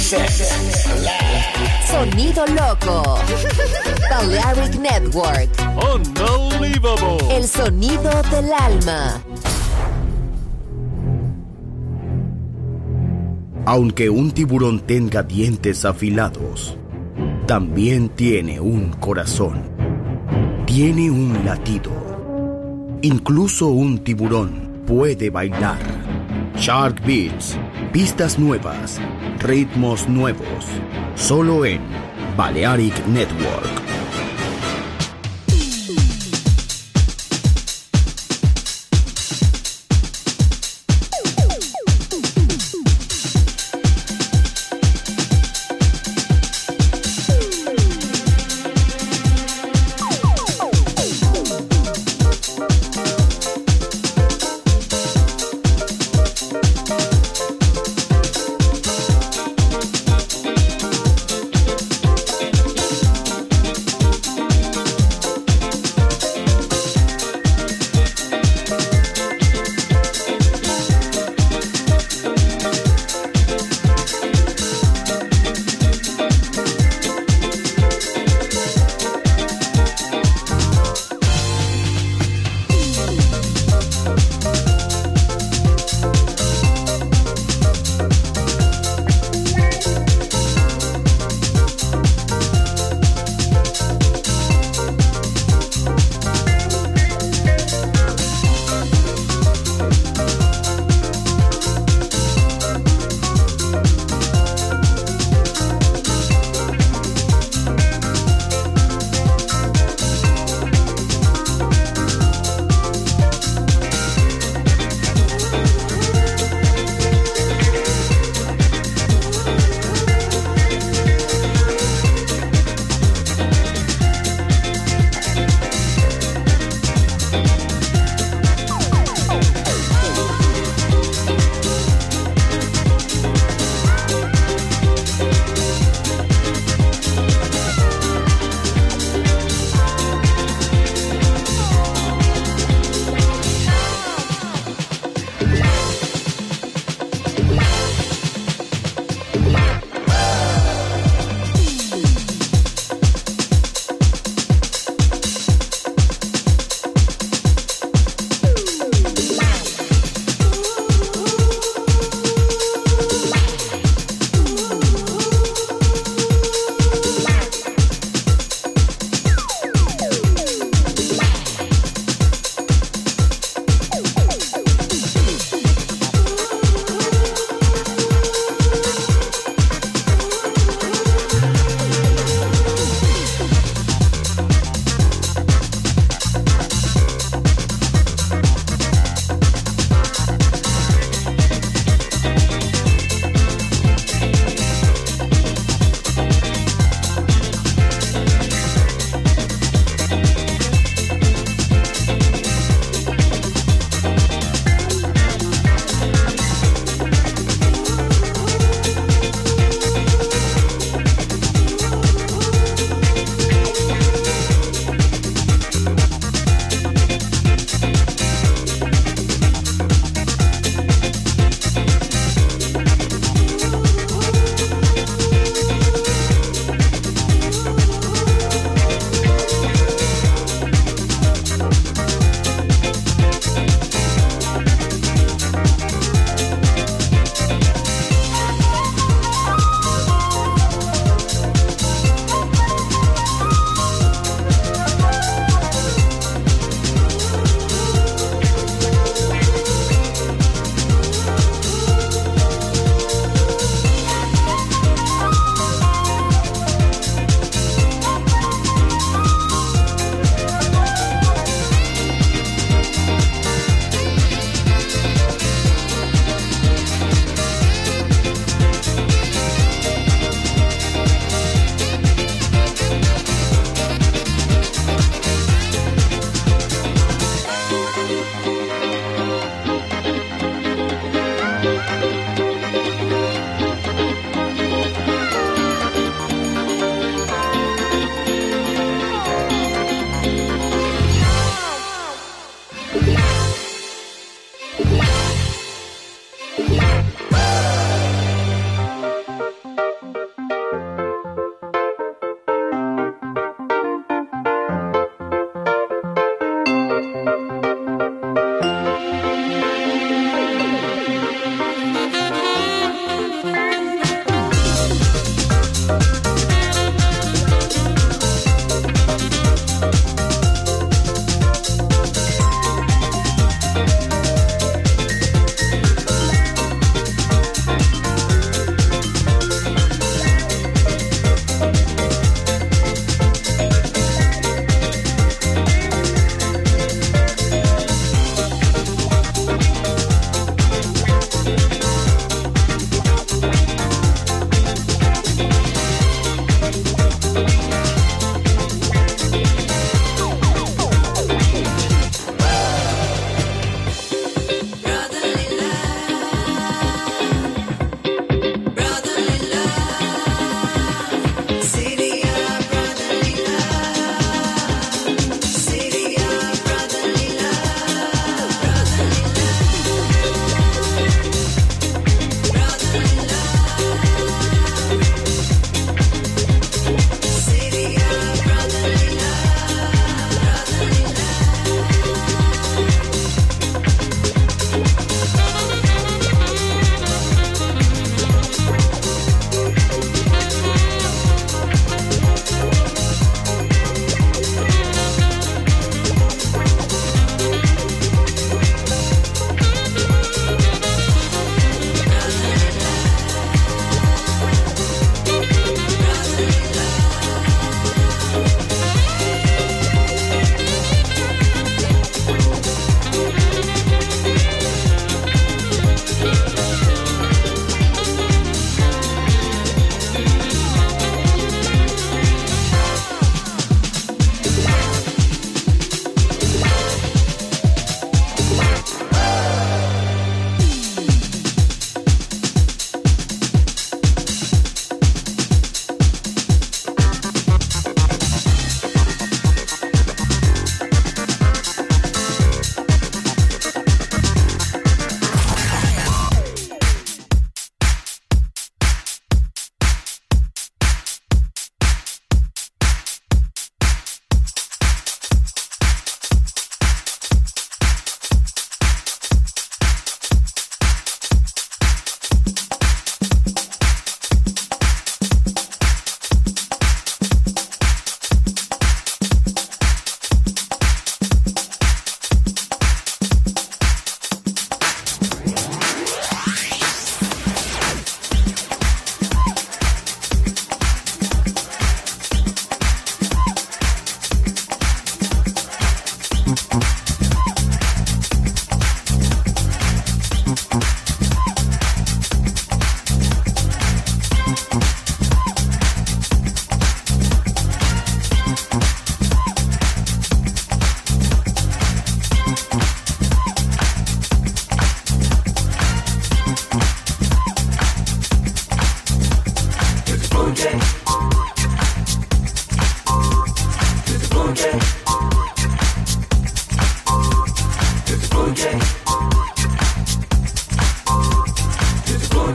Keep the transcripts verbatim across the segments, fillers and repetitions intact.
Sonido loco. Balearic Network. Unbelievable. El sonido del alma. Aunque un tiburón tenga dientes afilados, también tiene un corazón. Tiene un latido. Incluso un tiburón puede bailar. Shark Beats. Pistas nuevas. Ritmos nuevos. Solo en Balearic Network.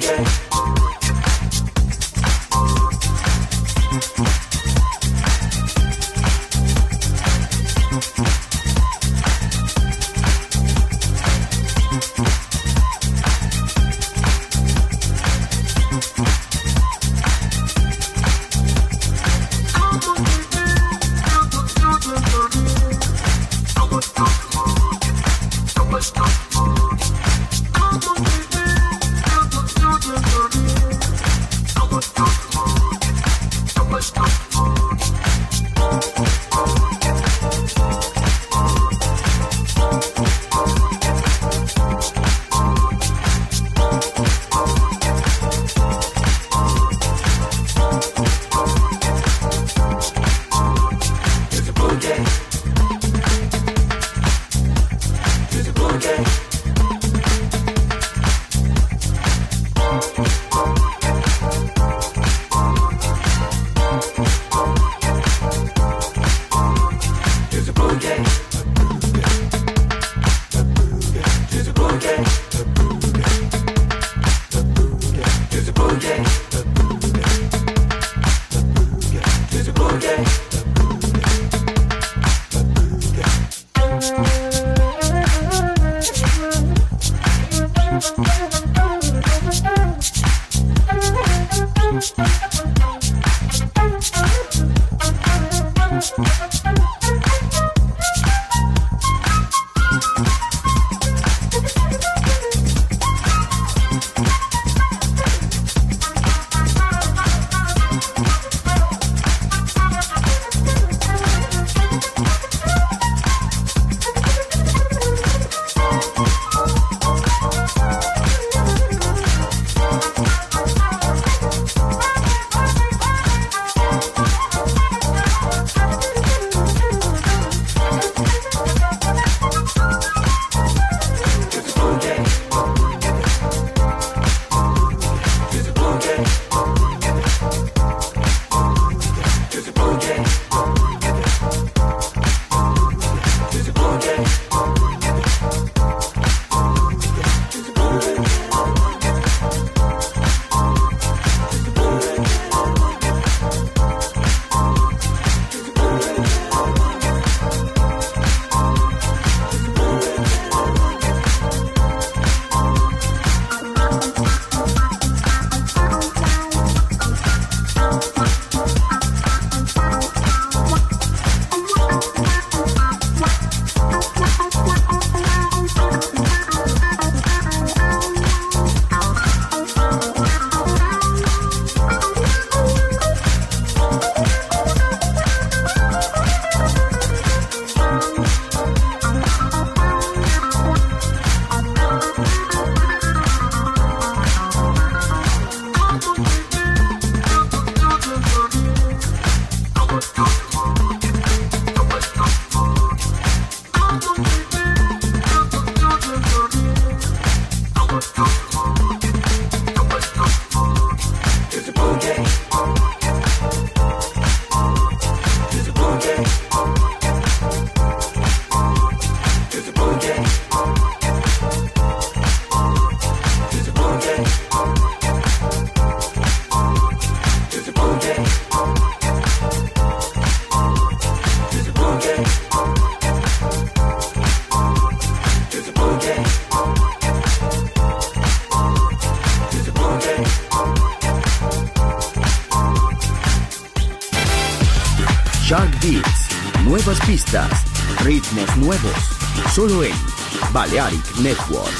Shark Beats, nuevas pistas, ritmos nuevos, solo en Balearic Network.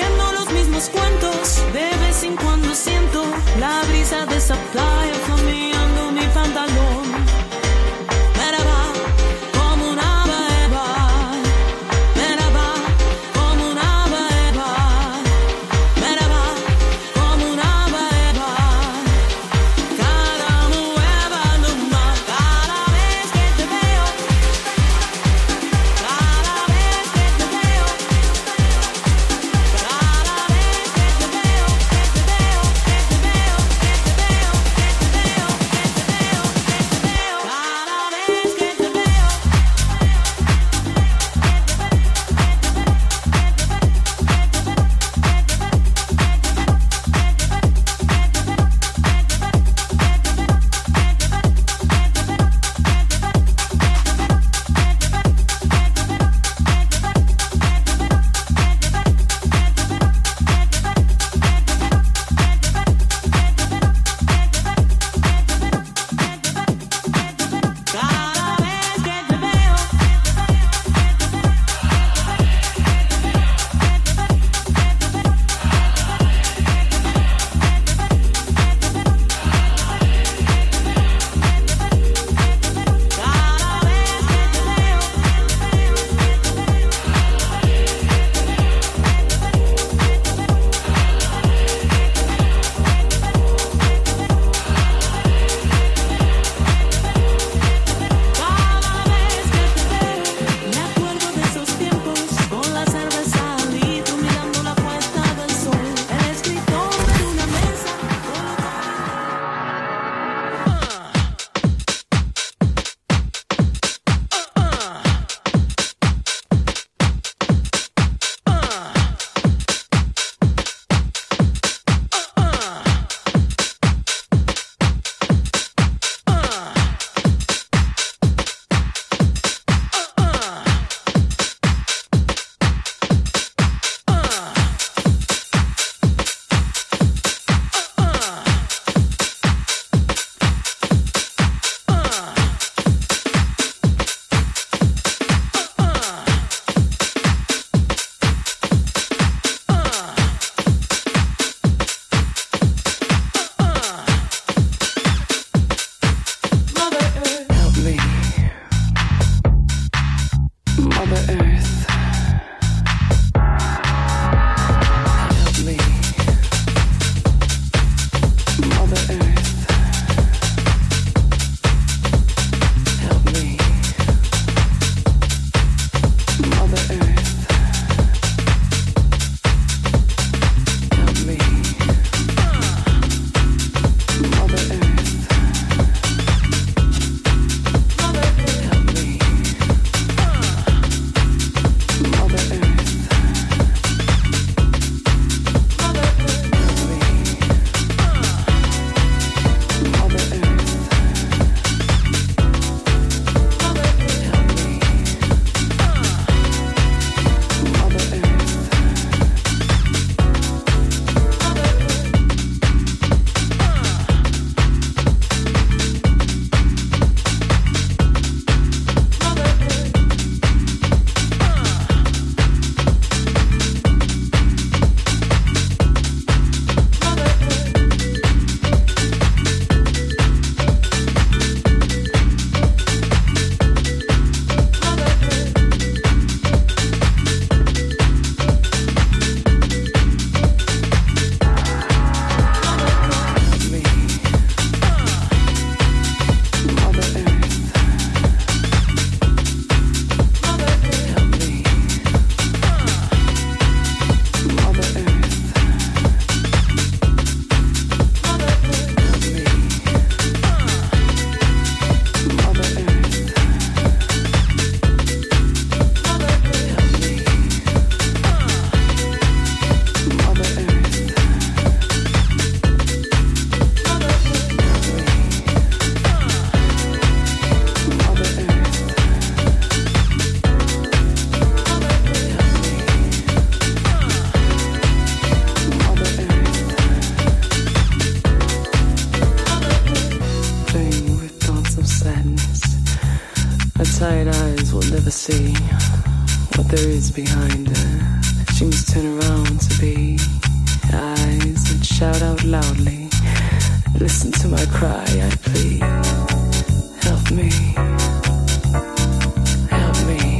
repitiendo los mismos cuentos. De vez en cuando siento la brisa de esa playa flameando mi pantalón. Me la va como una beba, me la va como una beba, me la va como una beba. Cada nueva luna, cada vez que te veo, cada vez que te veo, cada vez que te veo, que te veo, que te veo, que te veo, que te veo, que te veo, que te veo, cada vez que te veo. Cada vez que te veo, cada vez que te veo, cada vez que te veo, me acuerdo de esos tiempos con la cerveza al litro mirando la puesta del sol, el escritorio en una mesa. Mother Earth, help me. Mother Earth, help me. Mother Earth, help me. Mother Earth, help me. Mother Earth, help me. Mother Earth, help me. Tired eyes will never see what there is behind her. She She must turn around to be eyes that shout out loudly. Listen to my cry, I plead. Help me. Help me.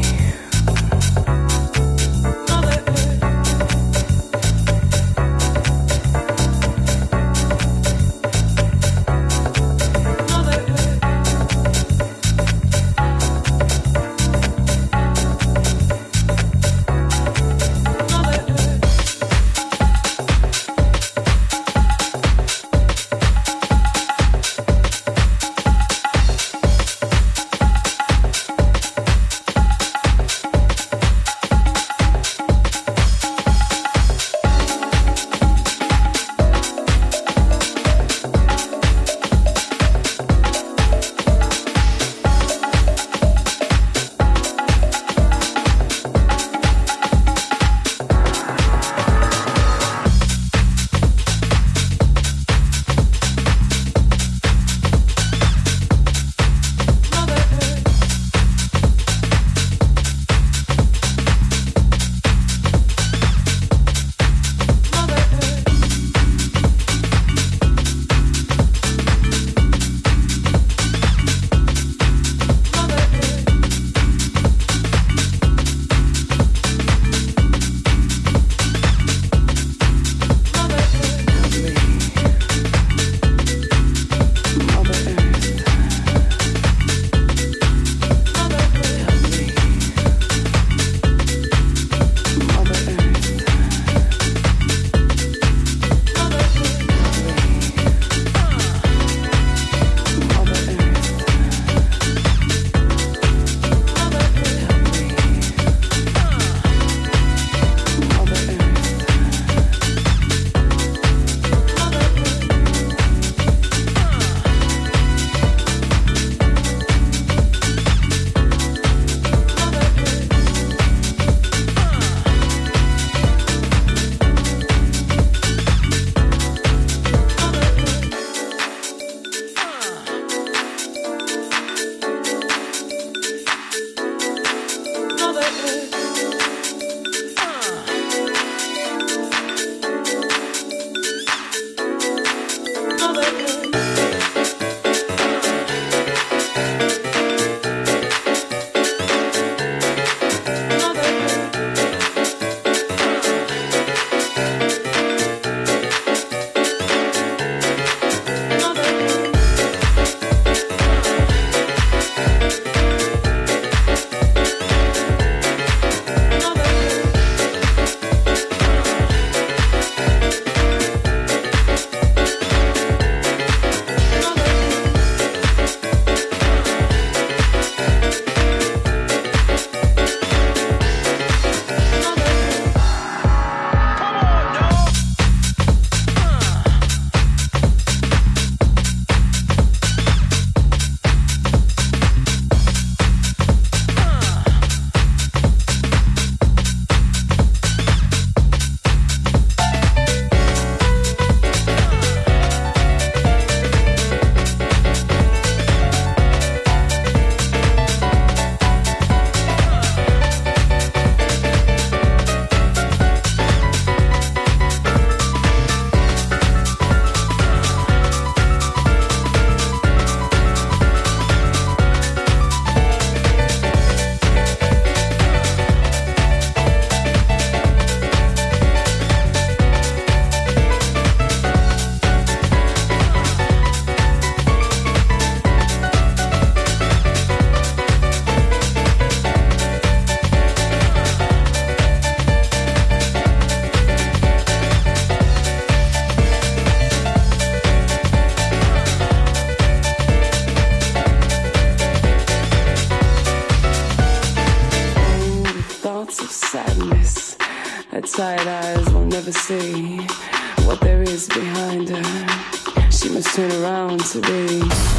Tired eyes will never see what there is behind her. She must turn around to be.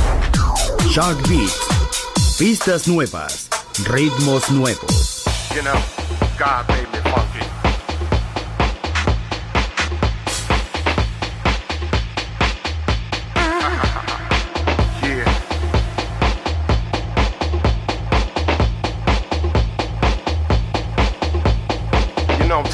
Shark Beats. Pistas nuevas. Ritmos nuevos. You know, God made me funky. Yeah. You know,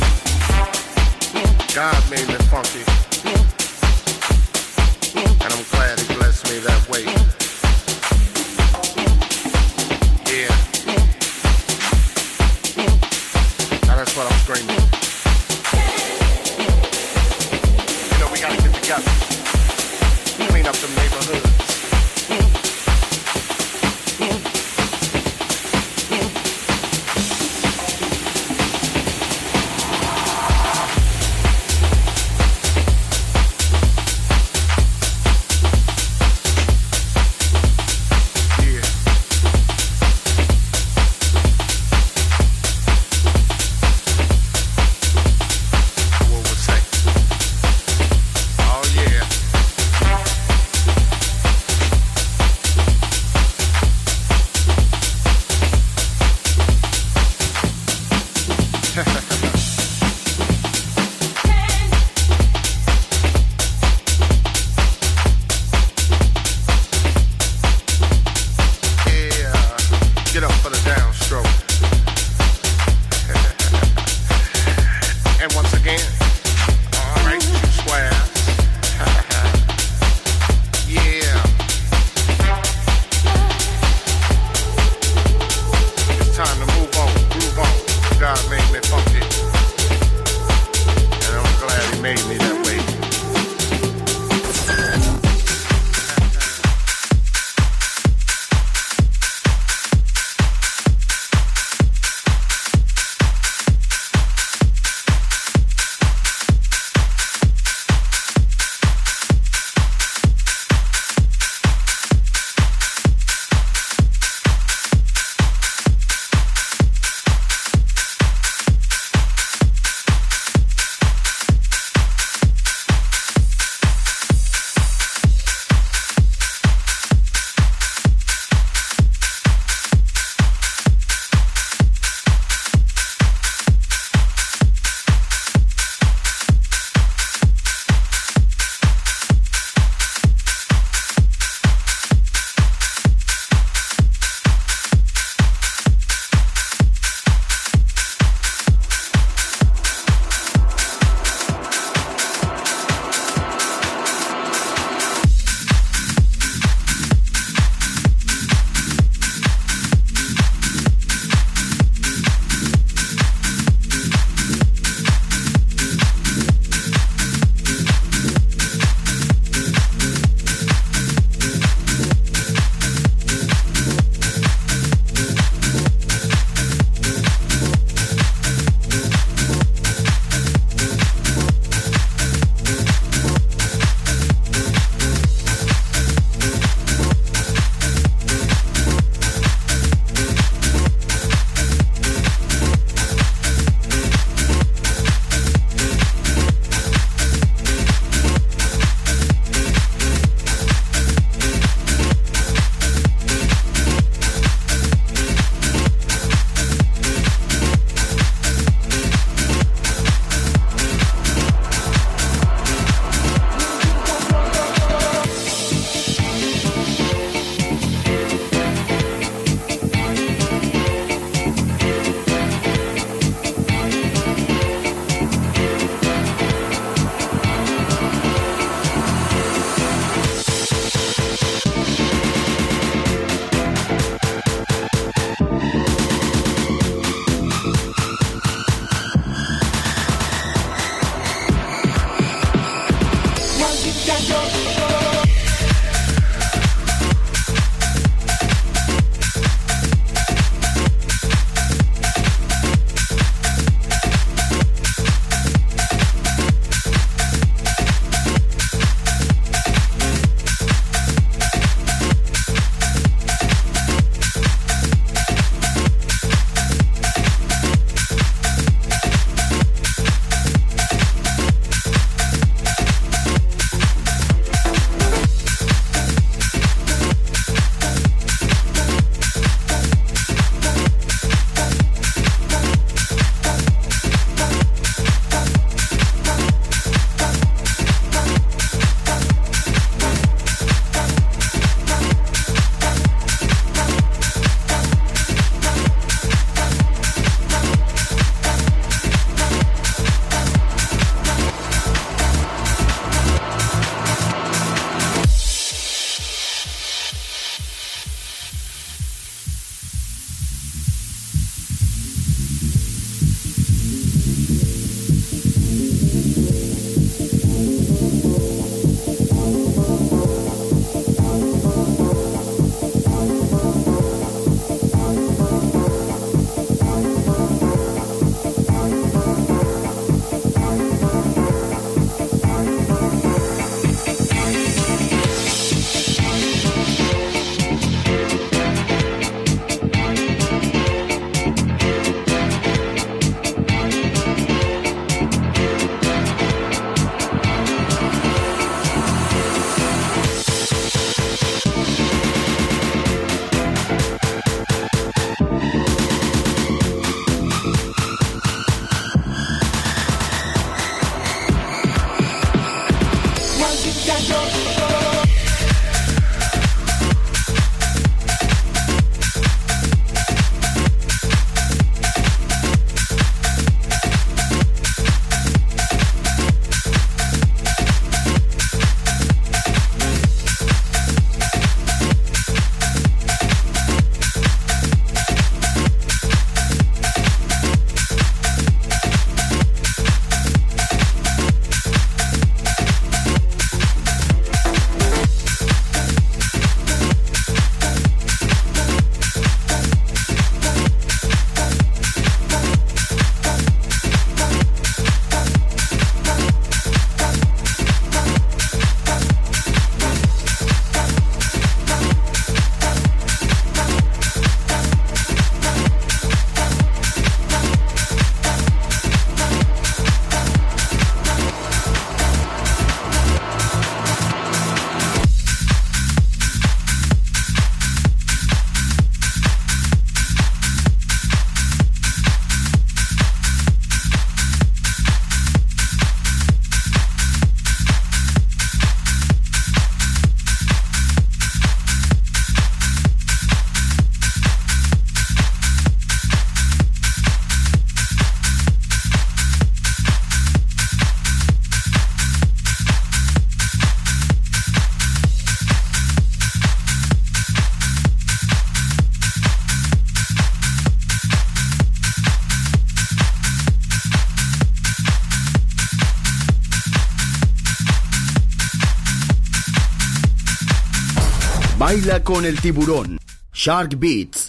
Baila con el tiburón. Shark Beats.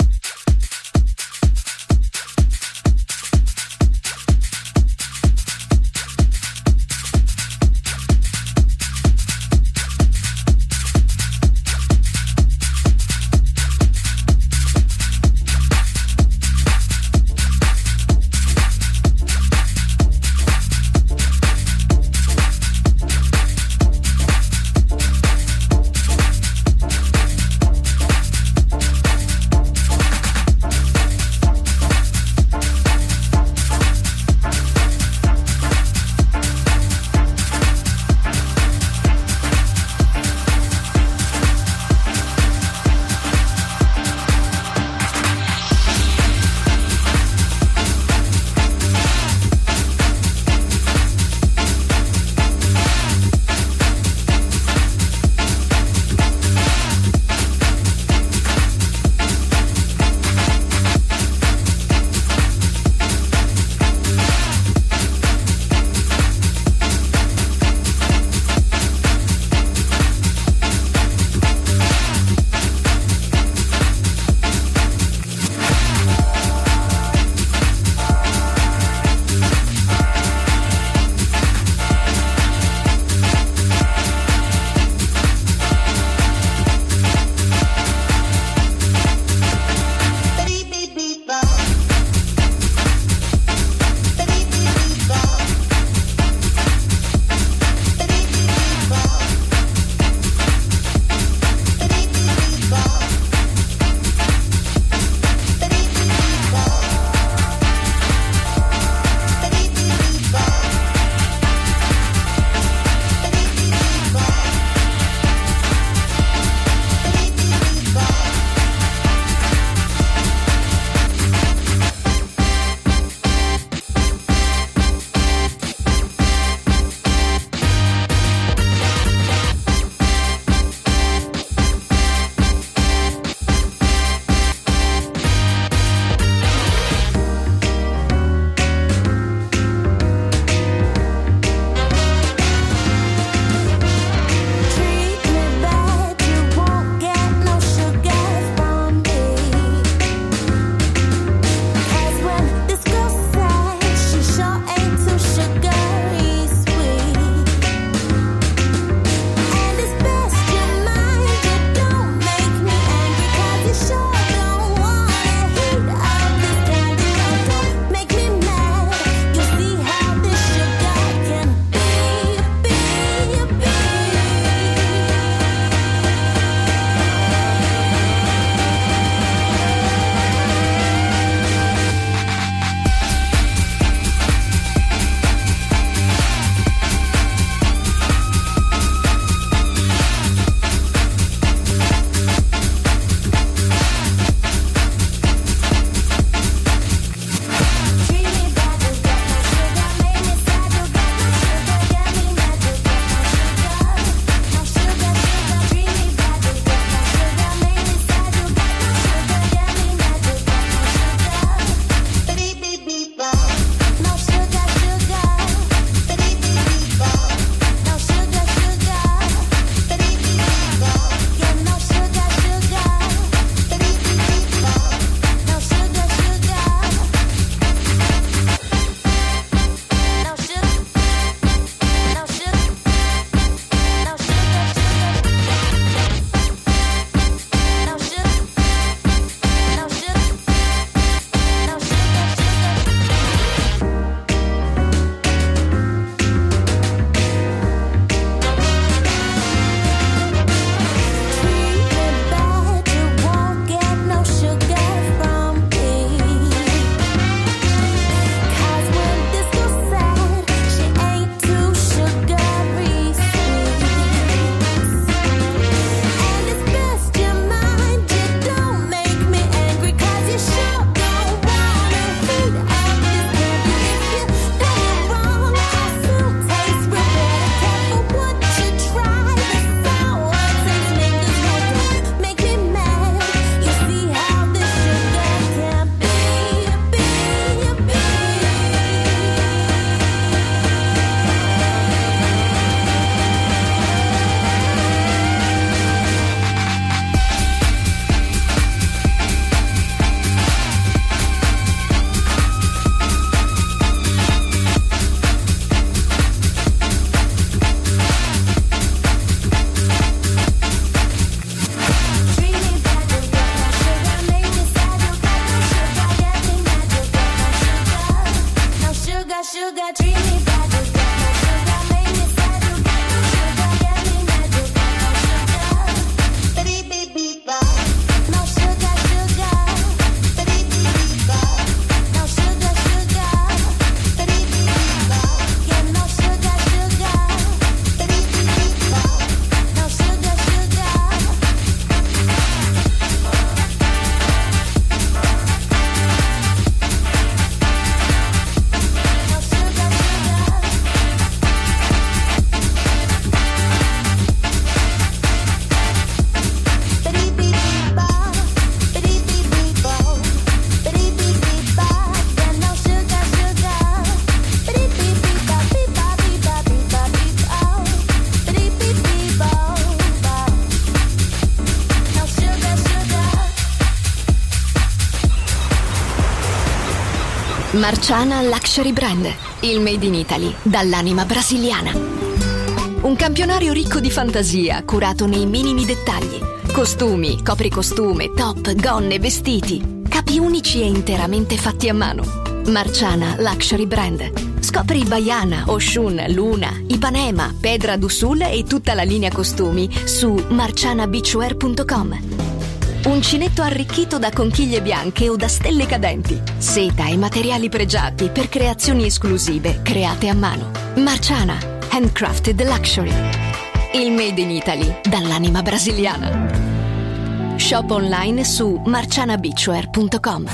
Marciana Luxury Brand, il made in Italy dall'anima brasiliana. Un campionario ricco di fantasia, curato nei minimi dettagli. Costumi, copricostume, top, gonne, vestiti. Capi unici e interamente fatti a mano. Marciana Luxury Brand. Scopri Baiana, Oshun, Luna, Ipanema, Pedra do Sul e tutta la linea costumi su marciana beachwear punto com. Uncinetto arricchito da conchiglie bianche o da stelle cadenti. Seta e materiali pregiati per creazioni esclusive create a mano. Marciana, handcrafted luxury. Il made in Italy dall'anima brasiliana. Shop online su marciana beachwear punto com.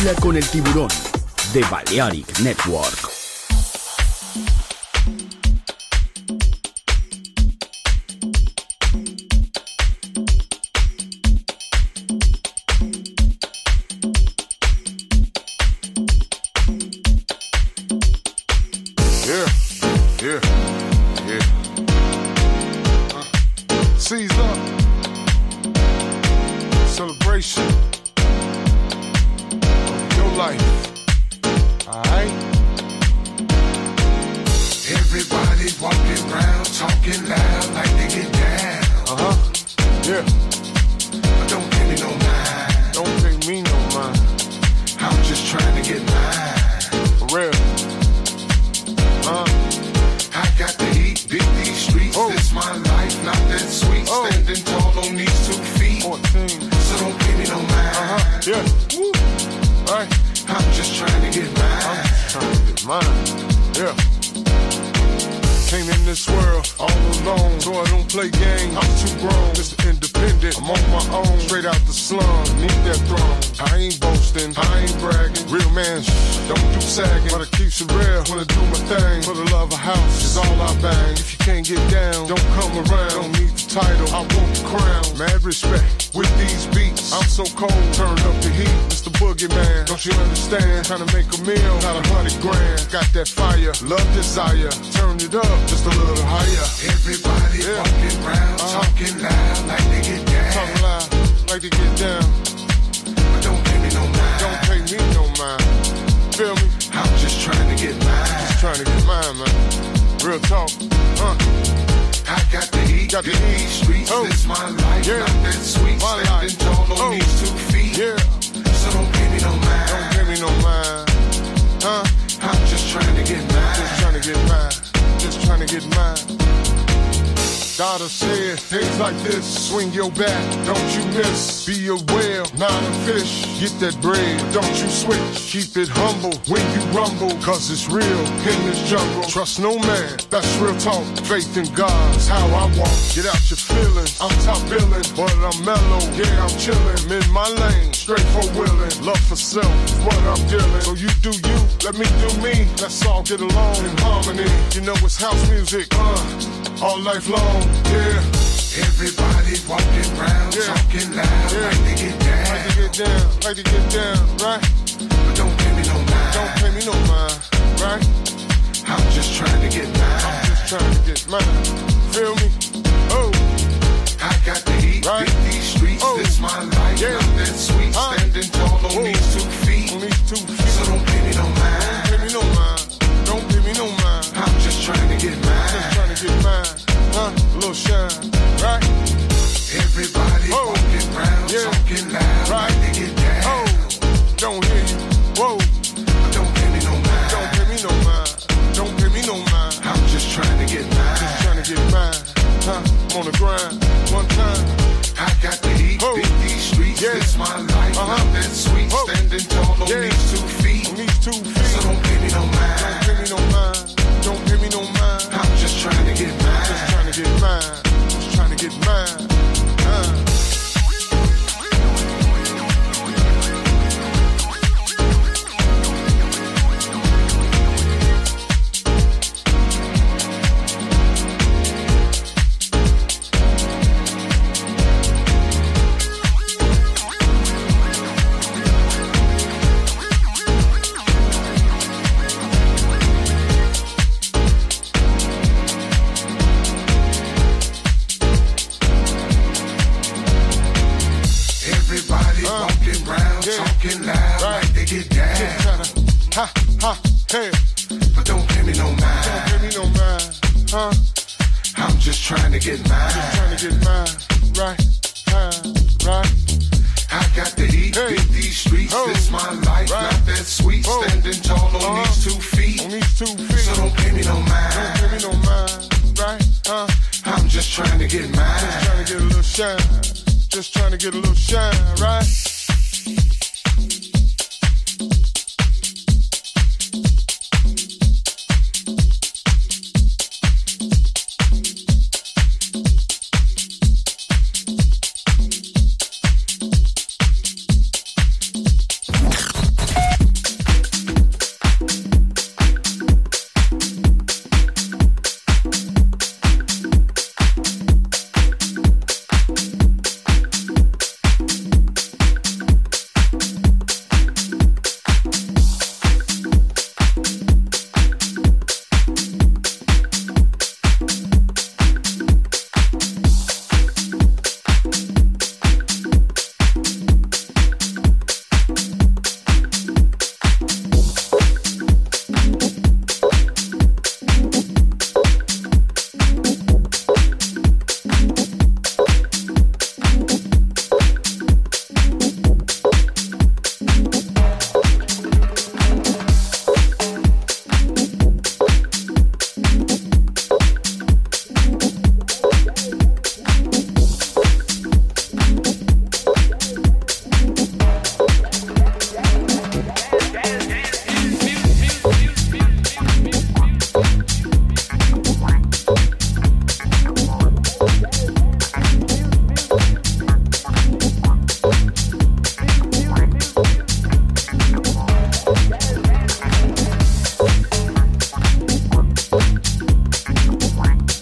Baila con el tiburón de Balearic Network. Yeah, yeah, yeah. Uh, Caesar, celebration of your life. Alright? Everybody walking around talking loud like they get down. Uh huh. Yeah. But don't pay me no mind. Don't pay me no mind. I'm just trying to get mine. For real. Uh, I got to eat, beat these streets. Oh. This my life, not that sweet. Oh. Standing tall on these two feet. fourteen. So don't pay me no mind. Uh huh. Yeah. Woo. Right. I'm just trying to get mine. I'm just trying to get mine. Yeah. Came in this world all alone, so I don't play games. I'm too grown, Mister Independent. I'm on my own, straight out the slum, need that throne. I ain't boasting, I ain't bragging. Real man, shh, don't do sagging. But it keeps it real, wanna do my thing. For the love of house is all I bang. If you can't get down, don't come around. Don't need the title, I want the crown. Mad respect with these beats. I'm so cold, turn up the heat. Mister Boogeyman, don't you understand? Trying to make a meal, not a hundred grand. Got that fire, love, desire. Turn it up just a little higher. Everybody Yeah. walking around Uh-huh. talking loud like they get down. Talk loud, like to get down. But don't pay me no mind. Don't pay me no mind. Feel me? I'm just trying to get mine. Just trying to get mine, man. Real talk. Uh, I got to eat, Got to beat eat. these streets. Oh. This my life, Yeah. not that sweet. My Standing life. tall on Oh. these two feet. yeah. So don't pay me no mind. Don't pay me no mind. Huh? I'm just trying to get mine. Just trying to get mine. Just trying to get mine. Daughter said things like this. Swing your bat, don't you miss. Be a whale, not a fish. Get that bread, don't you switch. Keep it humble when you rumble, cause it's real in this jungle. Trust no man, that's real talk. Faith in God's how I walk. Get out your feelings, I'm top billing, but I'm mellow, yeah, I'm chillin'. I'm in my lane, straight for willing. Love for self is what I'm dealing. So you do you, let me do me. Let's all get along in harmony. You know it's house music, uh, all life long, yeah. Everybody walking around Yeah. talking loud Yeah. like they get down. Like to get down, like to get down, right? But don't pay me no mind. Don't pay me no mind, right? I'm just trying to get mine. I'm just trying to get mine. Feel me? Oh, I got to eat, Right. beat these streets. Oh. This my life, Yeah. not that sweet. Huh. Standing tall on Whoa. these two feet. on these two feet. So don't pay me no Don't mind. pay me no mind. Don't pay me no mind. I'm just trying to get Just mine. trying to get mine. Huh? A little shine, right? Everybody Oh. walking around Yeah. talking loud Right. like they get down. Oh, don't hear you. Whoa, But don't pay me no mind. don't pay me no mind. Don't pay me no mind. I'm just trying to get mine. Just trying to get mine. Huh? I'm on the grind. One time. I got to eat, Oh. beat these streets. Yeah. This my life, Uh-huh. not that sweet. Oh. Standing tall on Yeah. these two feet. On these two feet. So don't pay me no mind. Don't pay me no mind. Don't pay me no mind. I'm just trying to get mine. Just trying to get mine. Just trying to get mine. Uh. Everybody Uh. walking around Yeah. talking loud Right. like they get down. Just tryna, ha, ha, hey, But don't pay me no don't mind. pay me no mind, huh? I'm just trying to get mine. Trying to get mine, right, time, right. I got to eat, Hey. beat these streets. Oh. This my life, Right. not that sweet. Oh. Standing tall on Uh-huh. these two feet. On these two feet, So don't pay me no don't mind. pay me no mind, right, huh? I'm just trying to get mine. Just trying to get a little shine, just trying to get a little shine, right?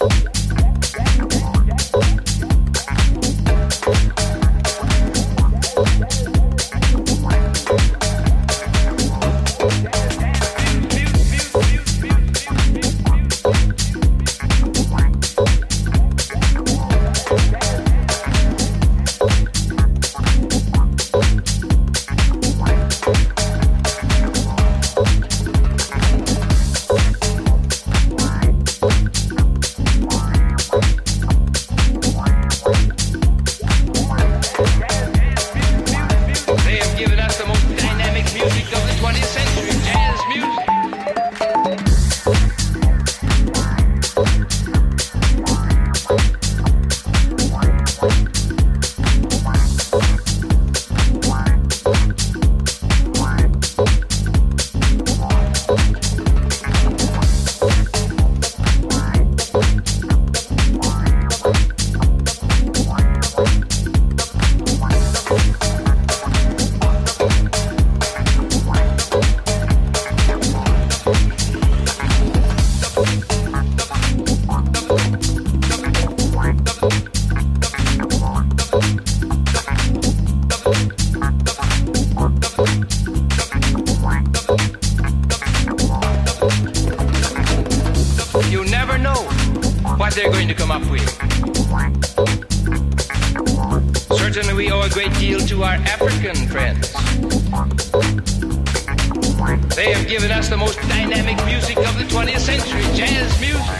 they're going to come up with. Certainly we owe a great deal to our African friends. They have given us the most dynamic music of the twentieth century, jazz music.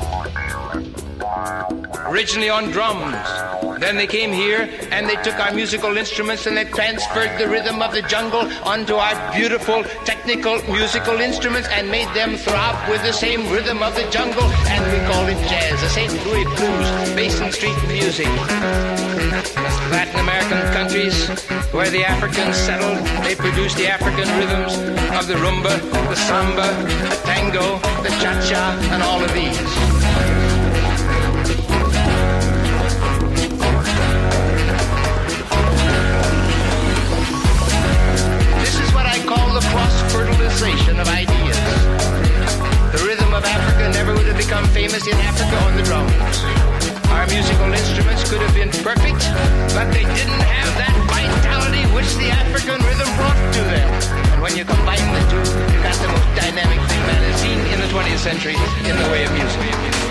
Originally on drums. Then they came here and they took our musical instruments and they transferred the rhythm of the jungle onto our beautiful technical musical instruments and made them throb with the same rhythm of the jungle, and we call it jazz, the Saint Louis blues, Basin Street music. Latin American countries where the Africans settled, they produced the African rhythms of the rumba, the samba, the tango, the cha-cha, and all of these. The cross-fertilization of ideas. The rhythm of Africa never would have become famous in Africa on the drums. Our musical instruments could have been perfect, but they didn't have that vitality which the African rhythm brought to them. And when you combine the two, you got the most dynamic thing that is seen in the twentieth century in the way of music.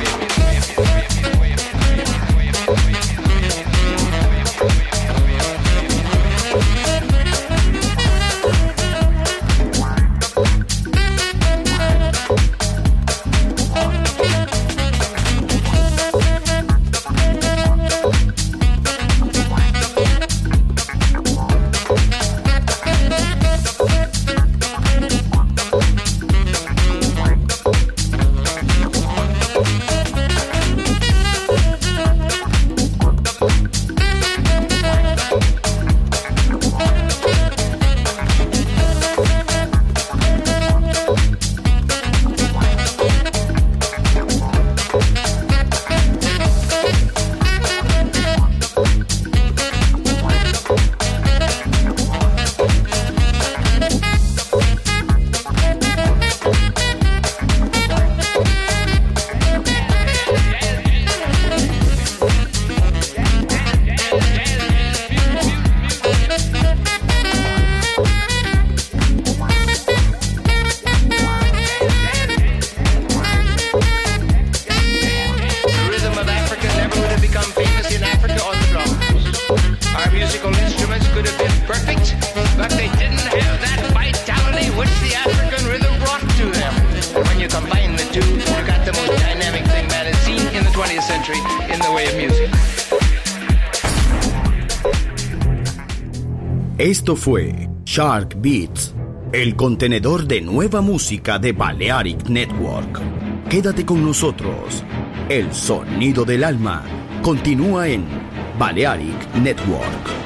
Esto fue Shark Beats, el contenedor de nueva música de Balearic Network. Quédate con nosotros. El sonido del alma continúa en Balearic Network.